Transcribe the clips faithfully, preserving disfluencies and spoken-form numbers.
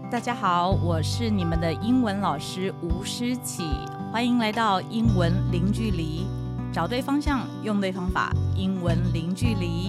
大家好，我是你們的英文老師吳詩綺，歡迎來到英文零距離，找對方向，用對方法，英文零距離。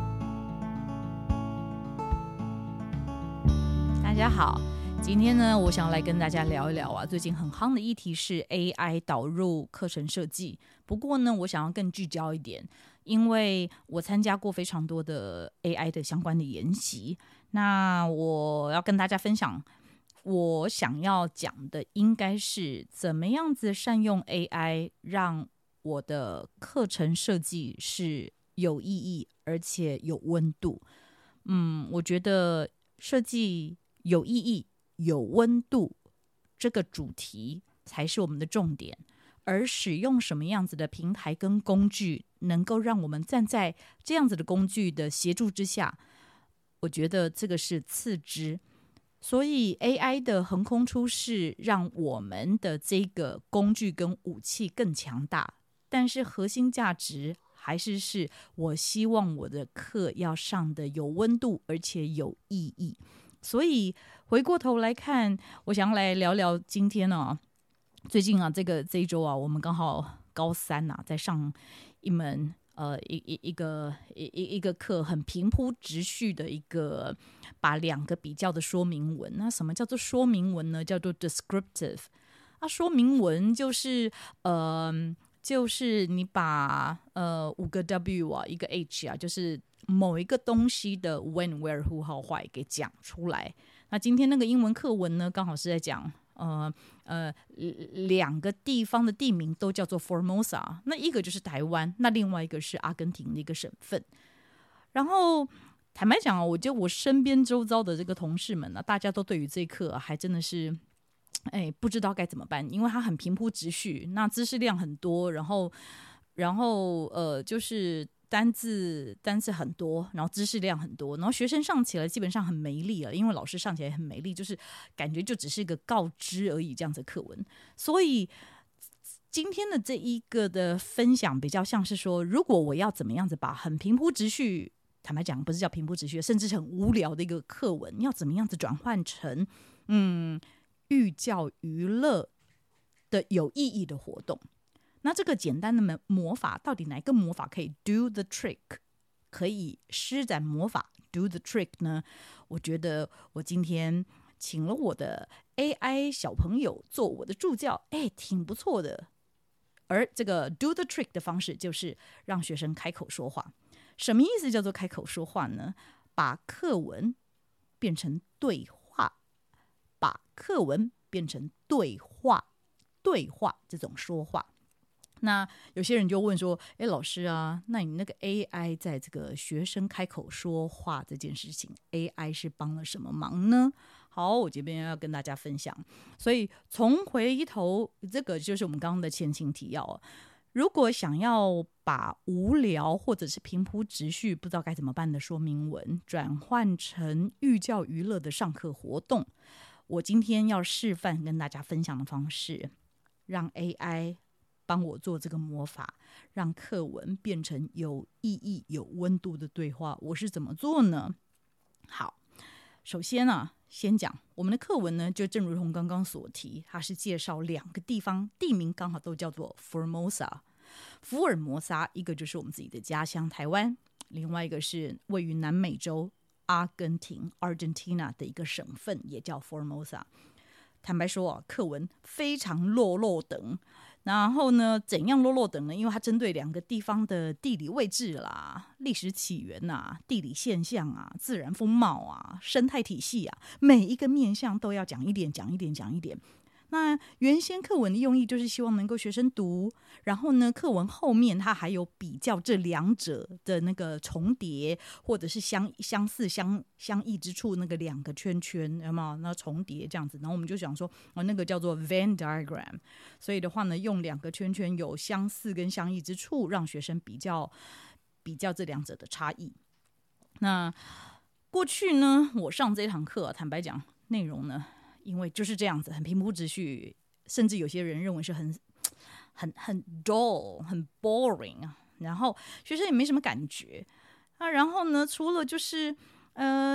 大家好，今天呢，我想來跟大家聊一聊啊，最近很夯的議題是 A I 導入課程設計。不過呢，我想要更聚焦一點，因為我參加過非常多的 A I 的相關的研習。那我要跟大家分享，我想要講的應該是怎麼樣子善用 A I， 讓我的課程設計是有意義而且有溫度。嗯，我覺得設計有意義、有溫度這個主題才是我們的重點，而使用什麼樣子的平台跟工具，能夠讓我們站在這樣子的工具的協助之下，我覺得這個是次之。所以 A I 的橫空出世，讓我們的這個工具跟武器更強大，但是核心價值還是是我希望我的課要上的有溫度而且有意義。所以回過頭來看，我想來聊聊今天呢、啊，最近啊，這個這一周啊，我們剛好高三啊，在上一門呃一一一個一一一個課，很平鋪直敘的一個，把兩個比較的說明文。那什麼叫做說明文呢？叫做 descriptive。啊，說明文就是呃，就是你把呃五個 W 啊，一個 H 啊，就是某一個東西的 when where who how why 給講出來。那今天那個英文課文呢，剛好是在講呃呃兩個地方的地名都叫做 Formosa， 那一個就是台灣，那另外一個是阿根廷的一個省份。然後坦白講啊，我覺得我身邊周遭的這個同事們啊，大家都對於這一課啊，還真的是哎不知道該怎麼辦，因為它很平鋪直敘，那知識量很多，然後然後呃就是單字單字很多，然後知識量很多，然後學生上起來基本上很沒力了，因為老師上起來很沒力，就是感覺就只是一個告知而已這樣子的課文。所以今天的這一個的分享比較像是說，如果我要怎麼樣子把很平鋪直敘，坦白講不是叫平鋪直敘，甚至是很無聊的一個課文，要怎麼樣子轉換成嗯寓教於樂的有意義的活動。那這個簡單的魔法，到底哪一個魔法可以 do the trick， 可以施展魔法 do the trick 呢？我覺得我今天請了我的 A I 小朋友做我的助教，哎，挺不錯的。而這個 do the trick 的方式就是讓學生開口說話。什麼意思叫做開口說話呢？把課文變成對話，把課文變成對話，對話這種說話。那有些人就問說，誒，老師啊，那你那個 A I 在這個學生開口說話這件事情 ，A I 是幫了什麼忙呢？好，我這邊要跟大家分享。所以從回頭，這個就是我們剛剛的前情提要。如果想要把無聊或者是平鋪直敘不知道該怎麼辦的說明文轉換成寓教於樂的上課活動，我今天要示範跟大家分享的方式，讓 A I幫我做這個魔法，讓課文變成有意義、有溫度的對話。我是怎麼做呢？好，首先啊，先講我們的課文呢，就正如同剛剛所提，它是介紹兩個地方地名，剛好都叫做 Formosa， 福爾摩沙，一個就是我們自己的家鄉台灣，另外一個是位於南美洲阿根廷 Argentina 的一個省份，也叫 Formosa。坦白說啊，課文非常落落長。然後呢，怎樣落落長呢？因為它針對兩個地方的地理位置啦、歷史起源啊、地理現象啊、自然風貌啊、生態體系啊，每一個面向都要講一點，講一點，講一點。那原先課文的用意就是希望能夠學生讀，然後呢，課文後面它還有比較這兩者的那個重疊或者是相相似相相異之處，那個兩個圈圈有沒有？那重疊這樣子，然後我們就想說，哦，那個叫做 Venn diagram。所以的話呢，用兩個圈圈有相似跟相異之處，讓學生比較比較這兩者的差異。那過去呢，我上這堂課，坦白講，內容呢，因為就是這樣子，很平鋪直敘，甚至有些人認為是很很很 dull、很 boring 啊。然後學生也沒什麼感覺啊。然後呢，除了就是呃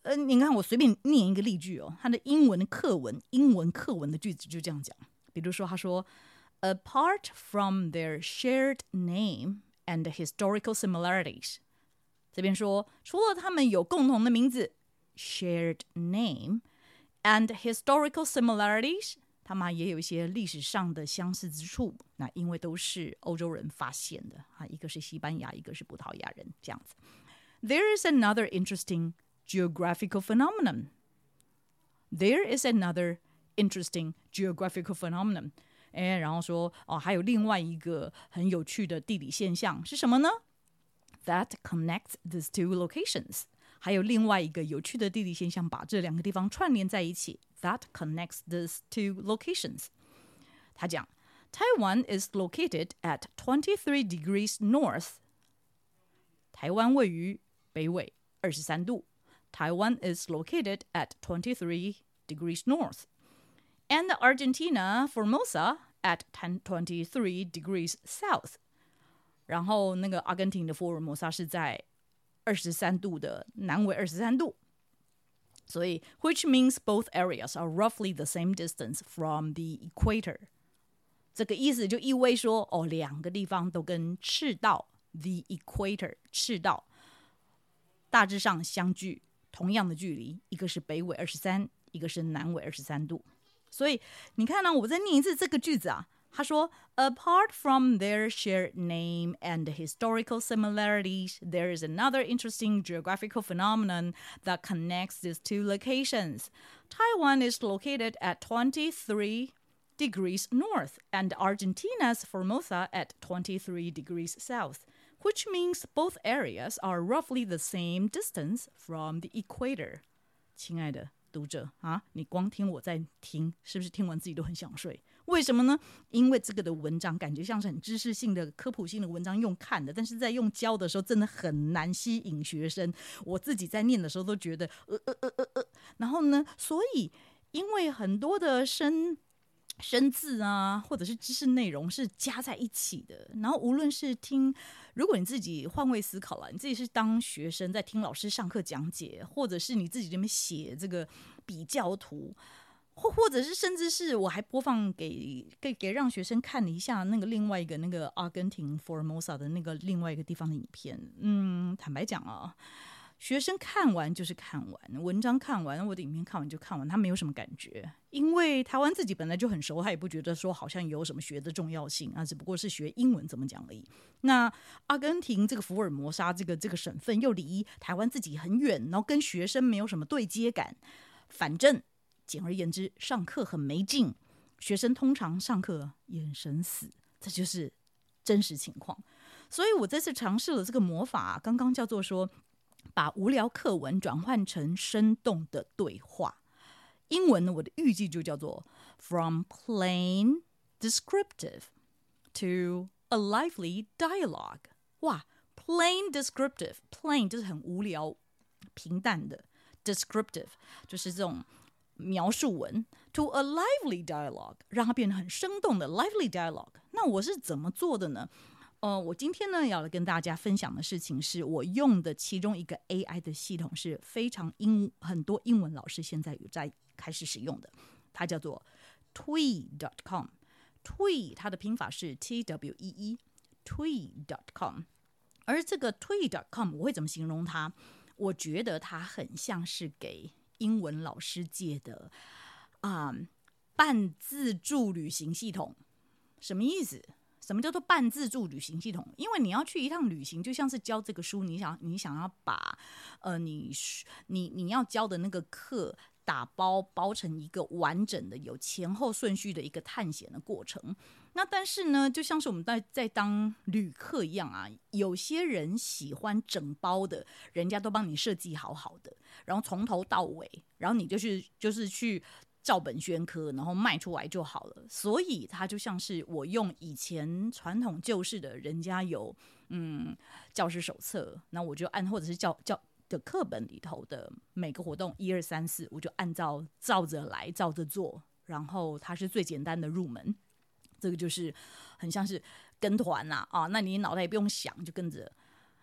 呃，你看我隨便念一個例句哦，它的英文課文，英文課文的句子就這樣講。比如說，他說 ，Apart from their shared name and historical similarities， 這邊說除了他們有共同的名字 ，shared name and historical similarities， 他們也有一些歷史上的相似之處。那因為都是歐洲人發現的啊，一個是西班牙，一個是葡萄牙人，這樣子。There is another interesting geographical phenomenon. There is another interesting geographical phenomenon. 誒，然後說哦，還有另外一個很有趣的地理現象是什麼呢？ That connects these two locations. 還有另外一個有趣的地理現象，把這兩個地方串聯在一起。That connects these two locations. 他講 Taiwan is located at twenty-three degrees north. 台灣位於北緯二十三度。Taiwan is located at twenty-three degrees north. And Argentina, Formosa, at twenty-three degrees south. 然後那個阿根廷的福爾摩沙是在二十三度的南緯二十三度。所以 which means both areas are roughly the same distance from the equator. 這個意思就意味說，哦，兩個地方都跟赤道 the equator 赤道大致上相距同樣的距離，一個是北緯二十三，一個是南緯二十三度。所以你看呢、啊，我再念一次這個句子啊。他說 ，Apart from their shared name and historical similarities, there is another interesting geographical phenomenon that connects these two locations. Taiwan is located at twenty-three degrees north, and Argentina's Formosa at twenty-three degrees south, which means both areas are roughly the same distance from the equator. 親愛的讀者啊，你光聽我在聽，是不是聽完自己都很想睡？為什麼呢？因為這個的文章感覺像是很知識性的、科普性的文章用看的，但是在用教的時候真的很難吸引學生。我自己在念的時候都覺得呃呃呃呃呃，然後呢，所以因為很多的生生字啊，或者是知識內容是加在一起的，然後無論是聽，如果你自己換位思考了，你自己是當學生在聽老師上課講解，或者是你自己這邊寫這個比較圖，或或者是甚至是我還播放給給給讓學生看了一下那個另外一個那個阿根廷 Formosa 的那個另外一個地方的影片。嗯，坦白講啊，學生看完就是看完，文章看完，我的影片看完就看完，他沒有什麼感覺。因為台灣自己本來就很熟，他也不覺得說好像有什麼學的重要性啊，只不過是學英文怎麼講而已。那阿根廷這個福爾摩沙這個這個省份又離台灣自己很遠，然後跟學生沒有什麼對接感。反正簡而言之，上課很沒勁，學生通常上課眼神死，這就是真實情況。所以我這次嘗試了這個魔法啊，剛剛叫做說把無聊課文轉換成生動的對話。英文呢，我的預計就叫做 From plain descriptive to a lively dialogue。哇 ，plain descriptive， plain 就是很無聊、平淡的 ，descriptive 就是這種描述文 ，to a lively dialogue 讓它變得很生動的 lively dialogue。那我是怎麼做的呢？呃，我今天呢要來跟大家分享的事情是我用的其中一個 A I 的系統是非常英很多英文老師現在有在開始使用的，它叫做 twee dot com。twee 它的拼法是 T W E E twee dot com。而這個 twee dot com 我會怎麼形容它？我覺得它很像是給英文老師界的啊、嗯、半自助旅行系統。什麼意思？什麼叫做半自助旅行系統？因為你要去一趟旅行，就像是教這個書，你想你想要把呃你你你要教的那個課打包包成一個完整的、有前後順序的一個探險的過程。那但是呢，就像是我們在在當旅客一樣啊，有些人喜歡整包的，人家都幫你設計好好的，然後從頭到尾，然後你就去就是去。照本宣科，然後賣出來就好了。所以它就像是我用以前傳統舊式的，人家有嗯教師手冊，那我就按或者是教教的課本裡頭的每個活動一二三四，我就按照照着來，照着做。然後它是最簡單的入門，這個就是很像是跟團吶啊，那你腦袋也不用想，就跟着。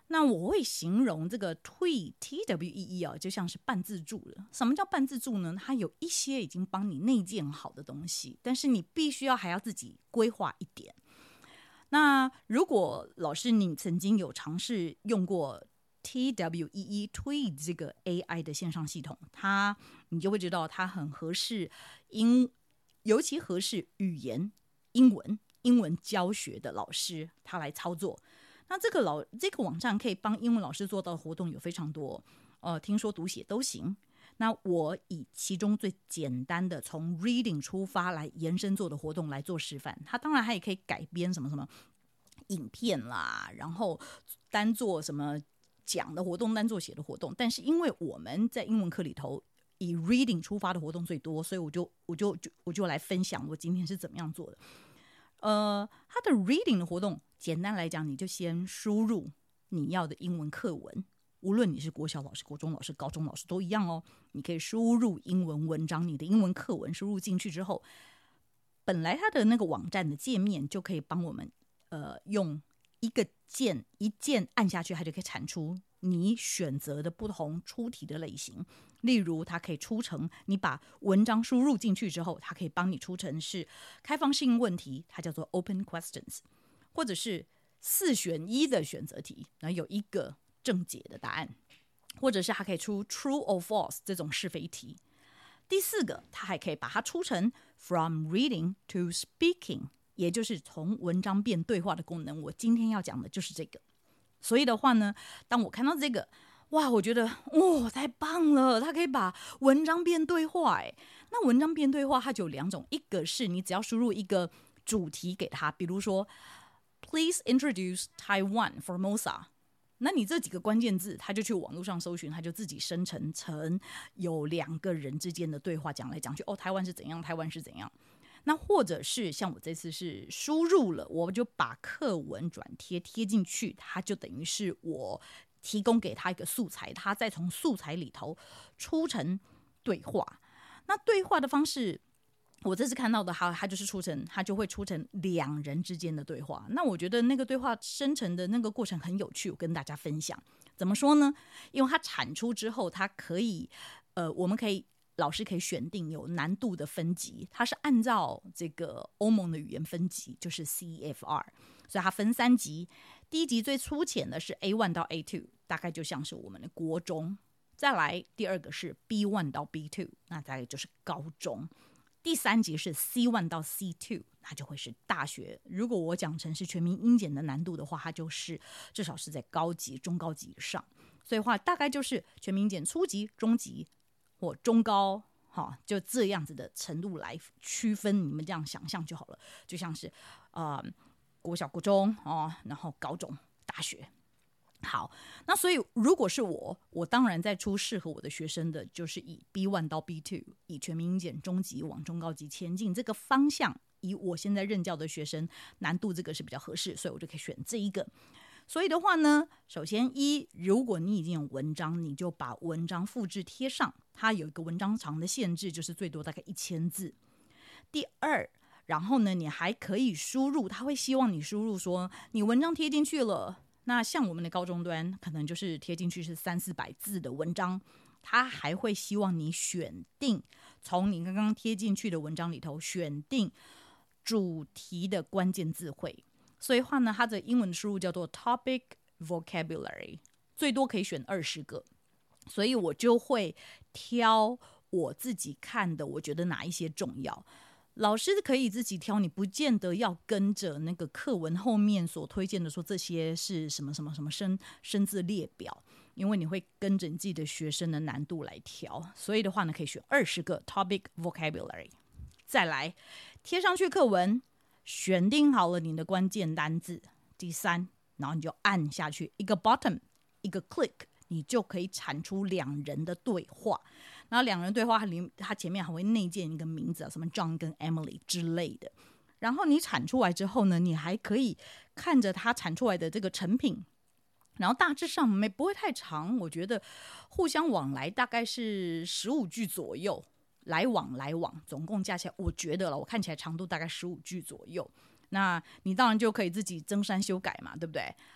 那我會形容這個 Twee T W E E 啊，就像是半自助了。什麼叫半自助呢？它有一些已經幫你內建好的東西，但是你必須要還要自己規劃一點。那如果老師你曾經有嘗試用過 T W E E Twee 這個 A I 的線上系統，它你就會知道它很合適英，尤其合適語言英文英文教學的老師他來操作。那這個老這個網站可以幫英文老師做到的活動有非常多，呃，聽說讀寫都行。那我以其中最簡單的從 reading 出發來延伸做的活動來做示範。它當然它也可以改編什麼什麼影片啦，然後單做什麼講的活動，單做寫的活動。但是因為我們在英文課裡頭以 reading 出發的活動最多，所以我就我就就我就來分享我今天是怎麼樣做的。呃，它的 reading 的活動，簡單來講，你就先輸入你要的英文課文，無論你是國小老師、國中老師、高中老師都一樣哦。你可以輸入英文文章，你的英文課文輸入進去之後，本來它的那個網站的界面就可以幫我們，呃，用一個鍵一鍵按下去，它就可以產出你選擇的不同出題的類型。例如，它可以出成你把文章輸入進去之後，它可以幫你出成是開放性問題，它叫做 open questions， 或者是四選一的選擇題，然後有一個正解的答案，或者是它可以出 true or false 這種是非題。第四個，它還可以把它出成 from reading to speaking， 也就是從文章變對話的功能。我今天要講的就是這個。所以的話呢，當我看到這個，哇，我覺得哇、哦，太棒了！它可以把文章變對話，哎，那文章變對話它就有兩種，一個是你只要輸入一個主題給它，比如說 Please introduce Taiwan Formosa， 那你這幾個關鍵字，它就去網絡上搜尋，它就自己生成成有兩個人之間的對話，講來講去，哦，台灣是怎樣，台灣是怎樣。那或者是像我這次是輸入了，我就把課文轉貼貼進去，它就等於是我提供給他一個素材，他再從素材裡頭出成對話。那對話的方式，我這次看到的它，它就是出成，它就會出成兩人之間的對話。那我覺得那個對話生成的那個過程很有趣，我跟大家分享。怎麼說呢？因為它產出之後，它可以，呃，我們可以。老師可以選定有難度的分級，它是按照這個歐盟的語言分級，就是 C F R， 所以它分三級。第一級最粗淺的是 A 一 到 A 二， 大概就像是我們的國中。再來第二個是 B 一 到 B 二， 那大概就是高中。第三級是 C 一 到 C 二， 那就會是大學。如果我講成是全民英檢的難度的話，它就是至少是在高級、中高級以上。所以話大概就是全民英檢初級、中級。或中高，哈，就這樣子的程度來區分，你們這樣想象就好了。就像是，呃，國小、國中哦，然後高中、大學。好，那所以如果是我，我當然在出適合我的學生的，就是以 B 一 到 B 二， 以全民英檢中級往中高級前進這個方向，以我現在任教的學生難度這個是比較合適，所以我就可以選這一個。所以的話呢，首先一，如果你已經有文章，你就把文章複製貼上，它有一個文章長的限制，就是最多大概一千字。第二，然後呢，你還可以輸入，他會希望你輸入說你文章貼進去了，那像我們的高中端可能就是貼進去是三四百字的文章，他還會希望你選定從你剛剛貼進去的文章裡頭選定主題的關鍵字彙。所以話呢，它的英文輸入叫做 topic vocabulary， 最多可以選二十個，所以我就會挑我自己看的，我覺得哪一些重要。老師可以自己挑，你不見得要跟着那個課文後面所推薦的說這些是什麼什麼什麼生生字列表，因為你會跟着你自己的學生的難度來調。所以的話呢，可以選二十個 topic vocabulary， 再來貼上去課文。選定好了你的關鍵單字，第三，然後你就按下去一個 button， 一個 click， 你就可以產出兩人的對話。然後兩人對話，它裡它前面還會內建一個名字啊，什麼 John 跟 Emily 之類的。然後你產出來之後呢，你還可以看着它產出來的這個成品，然後大致上沒不會太長，我覺得互相往來大概是十五句左右。來往來往，總共加起來，我覺得了，我看起來長度大概十五句左右。那你當然就可以自己增刪修改嘛，對不對？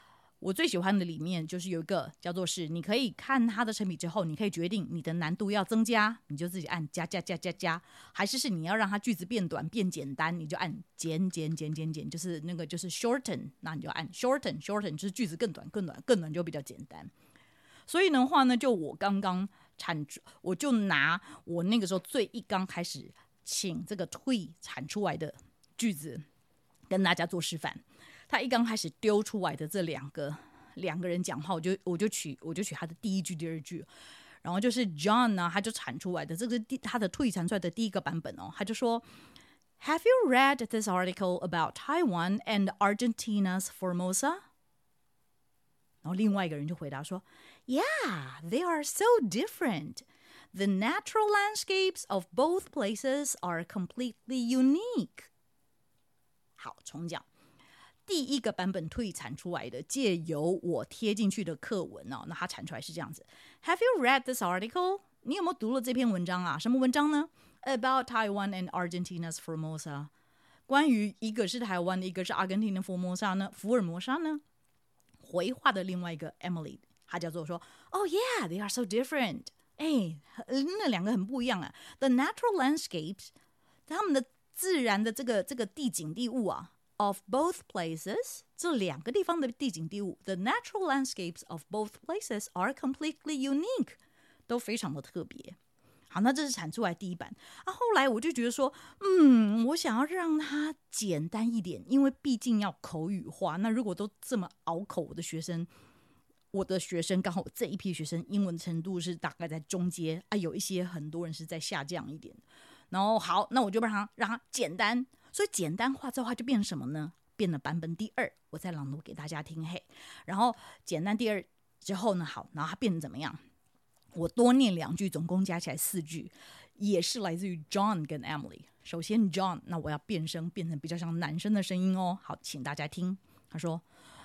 我最喜歡的裡面就是有一個叫做是，你可以看它的成品之後，你可以決定你的難度要增加，你就自己按加加加加加，還是是你要讓它句子變短變簡單，你就按減減減減減，就是那個就是 shorten， 那你就按 shorten shorten， 就是句子更短更短更短就比較簡單。所以的話呢，就我剛剛產出，我就拿我那個時候最一剛開始請這個 Twee 產出來的句子跟大家做示範。他一剛開始丟出來的這兩個兩個人講話，我就我就取我就取他的第一句、第二句，然後就是 John 呢，他就產出來的這個是他的 Twee 產出來的第一個版本哦，他就說 Have you read this article about Taiwan and Argentina's Formosa？ 然後另外一個人就回答說 Yeah, they are so different. The natural landscapes of both places are completely unique. 好，重講。第一個版本推產出來的，借由我貼進去的課文哦，那它產出來是這樣子。Have you read this article？ 你有沒有讀了這篇文章啊？什麼文章呢 ？About Taiwan and Argentina's Formosa。關於一個是台灣的，一個是阿根廷的佛摩薩呢，福爾摩沙呢？回話的另外一個 Emily， 她叫做說 ，Oh yeah, they are so different。哎，那兩個很不一樣啊。The natural landscapes， 他們的自然的這個這個地景地物啊。Of both places， 這兩個地方的地景地物 ，the natural landscapes of both places are completely unique， 都非常的特別。好，那這是產出來第一版啊。後來我就覺得說，嗯，我想要讓它簡單一點，因為畢竟要口語化。那如果都這麼拗口，我的學生，我的學生剛好這一批學生英文程度是大概在中階啊，有一些很多人是在下降一點。然後好，那我就讓它讓它簡單。所以簡單化之後，它就變成什麼呢？變了版本第二，我再朗讀給大家聽。嘿，然後簡單第二之後呢，好，然後它變成怎麼樣？我多念兩句，總共加起來四句，也是來自於 John 跟 Emily。首先 John， 那我要變聲，變成比較像男生的聲音哦。好，請大家聽。他說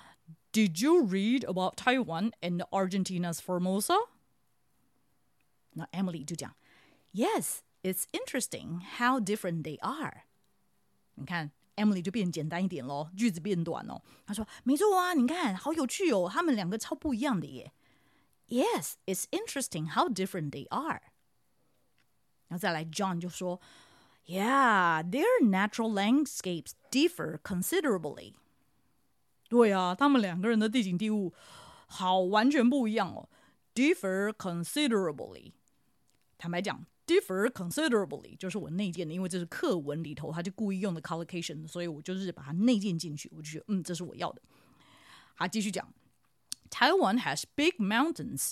：“Did you read about Taiwan and Argentina's Formosa？” 那 Emily 就講 ：“Yes, it's interesting how different they are。”你看 Emily 就變簡單一點咯，句子變短哦。他說沒錯啊，你看好有趣哦，他們兩個超不一樣的耶。Yes, it's interesting how different they are。 然後再來 John 就說 Yeah, their natural landscapes differ considerably。 對啊，他們兩個人的地景地物好完全不一樣哦。Differ considerably。 坦白講Differ considerably 就是我內建的，因為這是課文裡頭，他就故意用的 collocation， 所以我就是把它內建進去，我就覺得嗯，這是我要的。好，繼續講 Taiwan has big mountains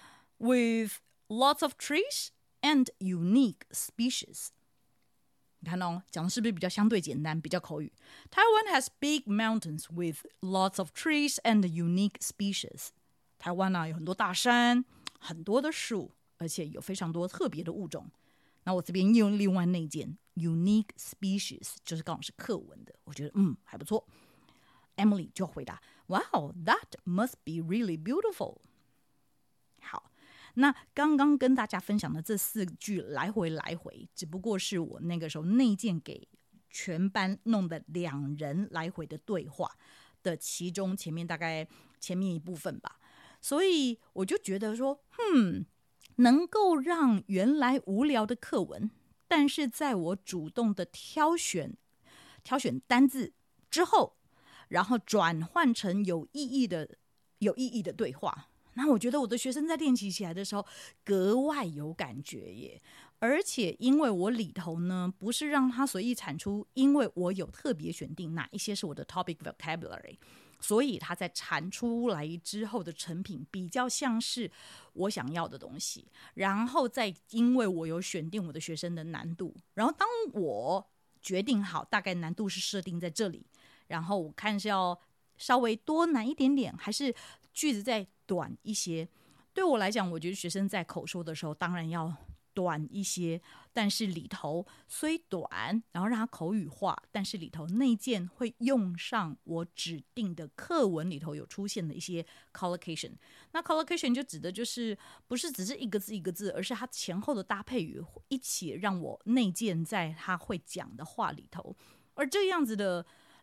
with lots of trees and unique species。 你看哦，講的是不是比較相對簡單，比較口語？ Taiwan has big mountains with lots of trees and unique species。 台灣啊有很多大山，很多的樹，而且有非常多特別的物種。那我這邊用另外那件 unique species， 就是剛好是課文的，我覺得嗯還不錯。Emily 就回答 Wow, that must be really beautiful。 好，那剛剛跟大家分享的這四句來回來回，只不過是我那個時候內建給全班弄的兩人來回的對話的其中前面大概前面一部分吧。所以我就覺得說嗯能夠讓原來無聊的課文，但是在我主動的挑選挑選單字之後，然後轉換成有意義的有意義的對話，那我覺得我的學生在練習起來的時候格外有感覺耶。而且因為我裡頭呢不是讓他隨意產出，因為我有特別選定哪一些是我的 topic vocabulary，所以他在產出來之後的成品比較像是我想要的東西。然後再因為我有選定我的學生的難度，然後當我決定好大概難度是設定在這裡，然後我看是要稍微多難一點點，還是句子再短一些。對我來講，我覺得學生在口說的時候當然要短一些，但是裡頭雖短，然後讓它口語化，但是裡頭內建會用上我指定的課文裡頭有出現的一些 collocation。那 collocation 就指的就是不是只是一個字一個字，而是它前後的搭配語一起讓我內建在他會講的話裡頭。而這樣子的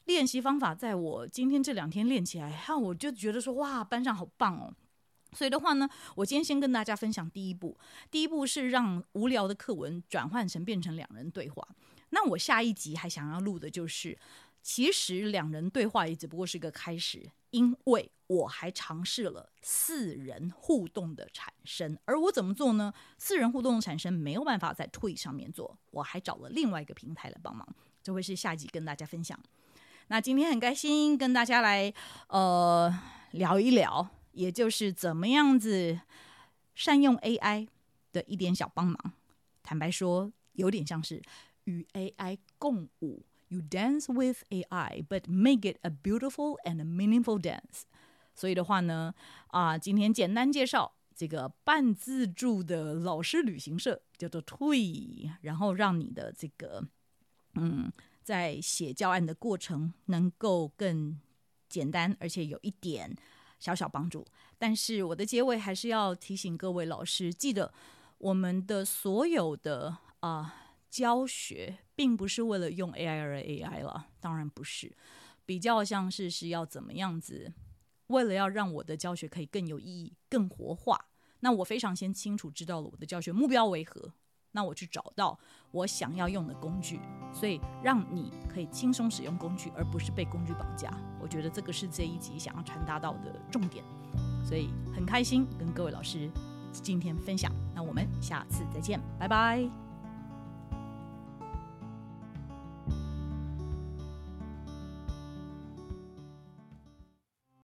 練習方法，在我今天這兩天練起來，哈，我就覺得說哇，班上好棒哦。所以的話呢，我今天先跟大家分享第一步。第一步是讓無聊的課文轉換成變成兩人對話。那我下一集還想要錄的就是，其實兩人對話也只不過是個開始，因為我還嘗試了四人互動的產生。而我怎麼做呢？四人互動的產生沒有辦法在 Tweet 上面做，我還找了另外一個平台來幫忙，這會是下集跟大家分享。那今天很開心跟大家來呃聊一聊，也就是怎麼樣子善用 A I 的一點小幫忙。坦白說，有點像是與 A I 共舞。You dance with A I, but make it a beautiful and a meaningful dance. 所以的話呢，啊，今天簡單介紹這個半自助的老師旅行社，叫做 Tweet， 然後讓你的這個嗯。在寫教案的過程能夠更簡單，而且有一點小小幫助。但是我的結尾還是要提醒各位老師，記得我們的所有的啊、呃、教學，並不是為了用 A I 而 A I 了，當然不是，比較像是是要怎麼樣子，為了要讓我的教學可以更有意義、更活化。那我非常先清楚知道了我的教學目標為何。那我去找到我想要用的工具，所以讓你可以輕鬆使用工具，而不是被工具綁架。我覺得這個是這一集想要傳達到的重點，所以很開心跟各位老師今天分享。那我們下次再見，拜拜。